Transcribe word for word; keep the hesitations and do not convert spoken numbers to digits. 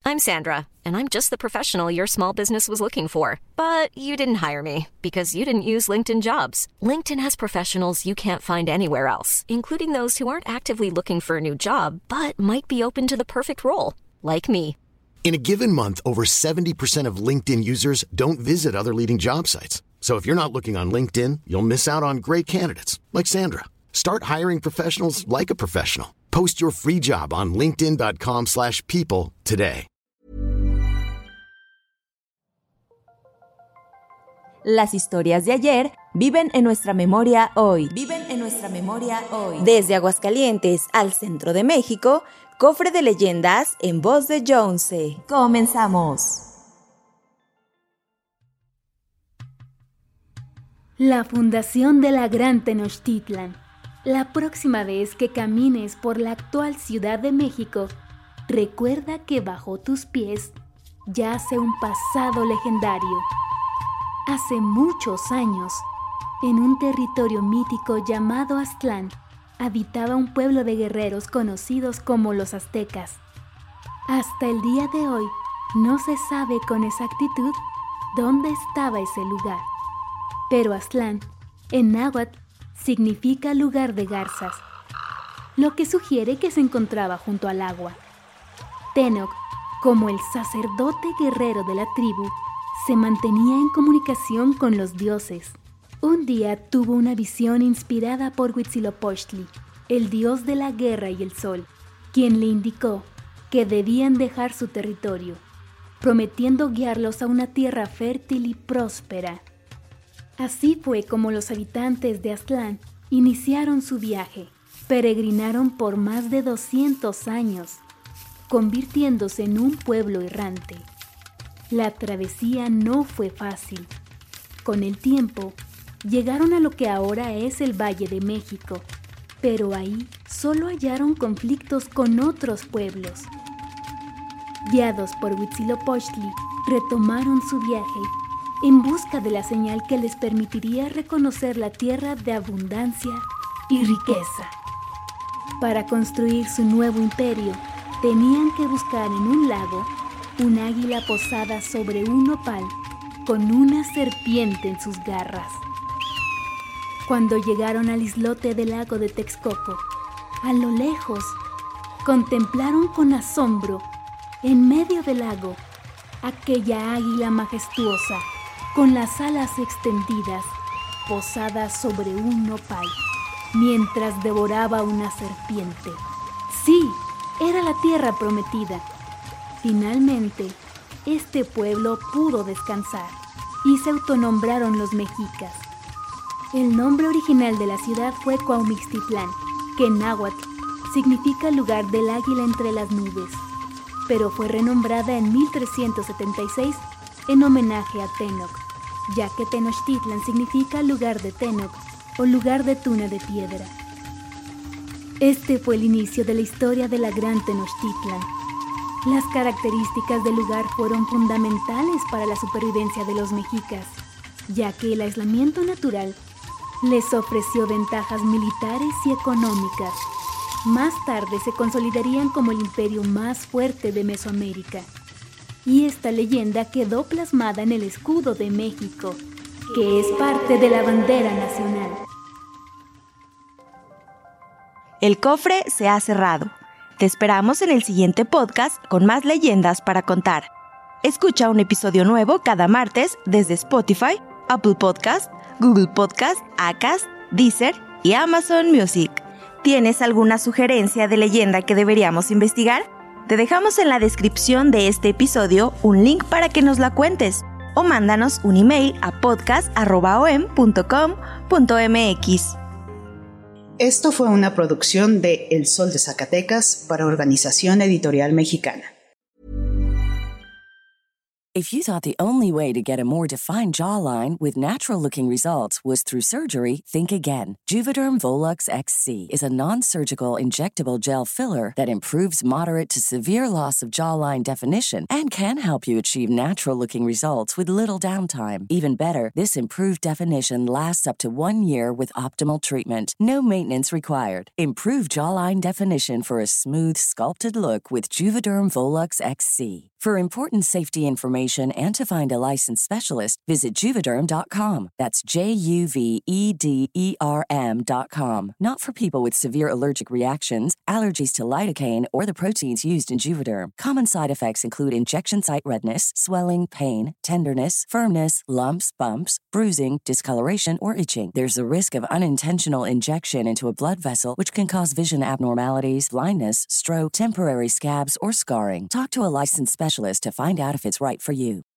I'm Sandra, and I'm just the professional your small business was looking for. But you didn't hire me because you didn't use LinkedIn Jobs. LinkedIn has professionals you can't find anywhere else, including those who aren't actively looking for a new job, but might be open to the perfect role, like me. In a given month, over seventy percent of LinkedIn users don't visit other leading job sites. So if you're not looking on LinkedIn, you'll miss out on great candidates like Sandra. Start hiring professionals like a professional. Post your free job on linkedin dot com slash people today. Las historias de ayer viven en nuestra memoria hoy. Viven en nuestra memoria hoy. Desde Aguascalientes al centro de México, Cofre de Leyendas en voz de Jonesy. Comenzamos. La fundación de la Gran Tenochtitlan. La próxima vez que camines por la actual Ciudad de México, recuerda que bajo tus pies yace un pasado legendario. Hace muchos años, en un territorio mítico llamado Aztlán, habitaba un pueblo de guerreros conocidos como los aztecas. Hasta el día de hoy, no se sabe con exactitud dónde estaba ese lugar. Pero Aztlán, en náhuatl, significa lugar de garzas, lo que sugiere que se encontraba junto al agua. Tenoch, como el sacerdote guerrero de la tribu, se mantenía en comunicación con los dioses. Un día tuvo una visión inspirada por Huitzilopochtli, el dios de la guerra y el sol, quien le indicó que debían dejar su territorio, prometiendo guiarlos a una tierra fértil y próspera. Así fue como los habitantes de Aztlán iniciaron su viaje. Peregrinaron por más de doscientos años, convirtiéndose en un pueblo errante. La travesía no fue fácil. Con el tiempo, llegaron a lo que ahora es el Valle de México, pero ahí solo hallaron conflictos con otros pueblos. Guiados por Huitzilopochtli, retomaron su viaje en busca de la señal que les permitiría reconocer la tierra de abundancia y riqueza. Para construir su nuevo imperio, tenían que buscar en un lago un águila posada sobre un nopal con una serpiente en sus garras. Cuando llegaron al islote del lago de Texcoco, a lo lejos, contemplaron con asombro, en medio del lago, aquella águila majestuosa, con las alas extendidas, posada sobre un nopal, mientras devoraba una serpiente. Sí, era la tierra prometida. Finalmente, este pueblo pudo descansar y se autonombraron los mexicas. El nombre original de la ciudad fue Cuaumixtitlán, que en náhuatl significa lugar del águila entre las nubes, pero fue renombrada en mil trescientos setenta y seis en homenaje a Tenoch, ya que Tenochtitlan significa lugar de Tenoch o lugar de tuna de piedra. Este fue el inicio de la historia de la Gran Tenochtitlan. Las características del lugar fueron fundamentales para la supervivencia de los mexicas, ya que el aislamiento natural les ofreció ventajas militares y económicas. Más tarde se consolidarían como el imperio más fuerte de Mesoamérica. Y esta leyenda quedó plasmada en el escudo de México, que es parte de la bandera nacional. El cofre se ha cerrado. Te esperamos en el siguiente podcast con más leyendas para contar. Escucha un episodio nuevo cada martes desde Spotify, Apple Podcast, Google Podcast, Acast, Deezer y Amazon Music. ¿Tienes alguna sugerencia de leyenda que deberíamos investigar? Te dejamos en la descripción de este episodio un link para que nos la cuentes o mándanos un email a podcast arroba o m punto com punto m x. Esto fue una producción de El Sol de Zacatecas para Organización Editorial Mexicana. If you thought the only way to get a more defined jawline with natural-looking results was through surgery, think again. Juvederm Volux X C is a non-surgical injectable gel filler that improves moderate to severe loss of jawline definition and can help you achieve natural-looking results with little downtime. Even better, this improved definition lasts up to one year with optimal treatment. No maintenance required. Improve jawline definition for a smooth, sculpted look with Juvederm Volux X C. For important safety information and to find a licensed specialist, visit Juvederm dot com. That's J U V E D E R M dot com. Not for people with severe allergic reactions, allergies to lidocaine, or the proteins used in Juvederm. Common side effects include injection site redness, swelling, pain, tenderness, firmness, lumps, bumps, bruising, discoloration, or itching. There's a risk of unintentional injection into a blood vessel, which can cause vision abnormalities, blindness, stroke, temporary scabs, or scarring. Talk to a licensed specialist to find out if it's right for you.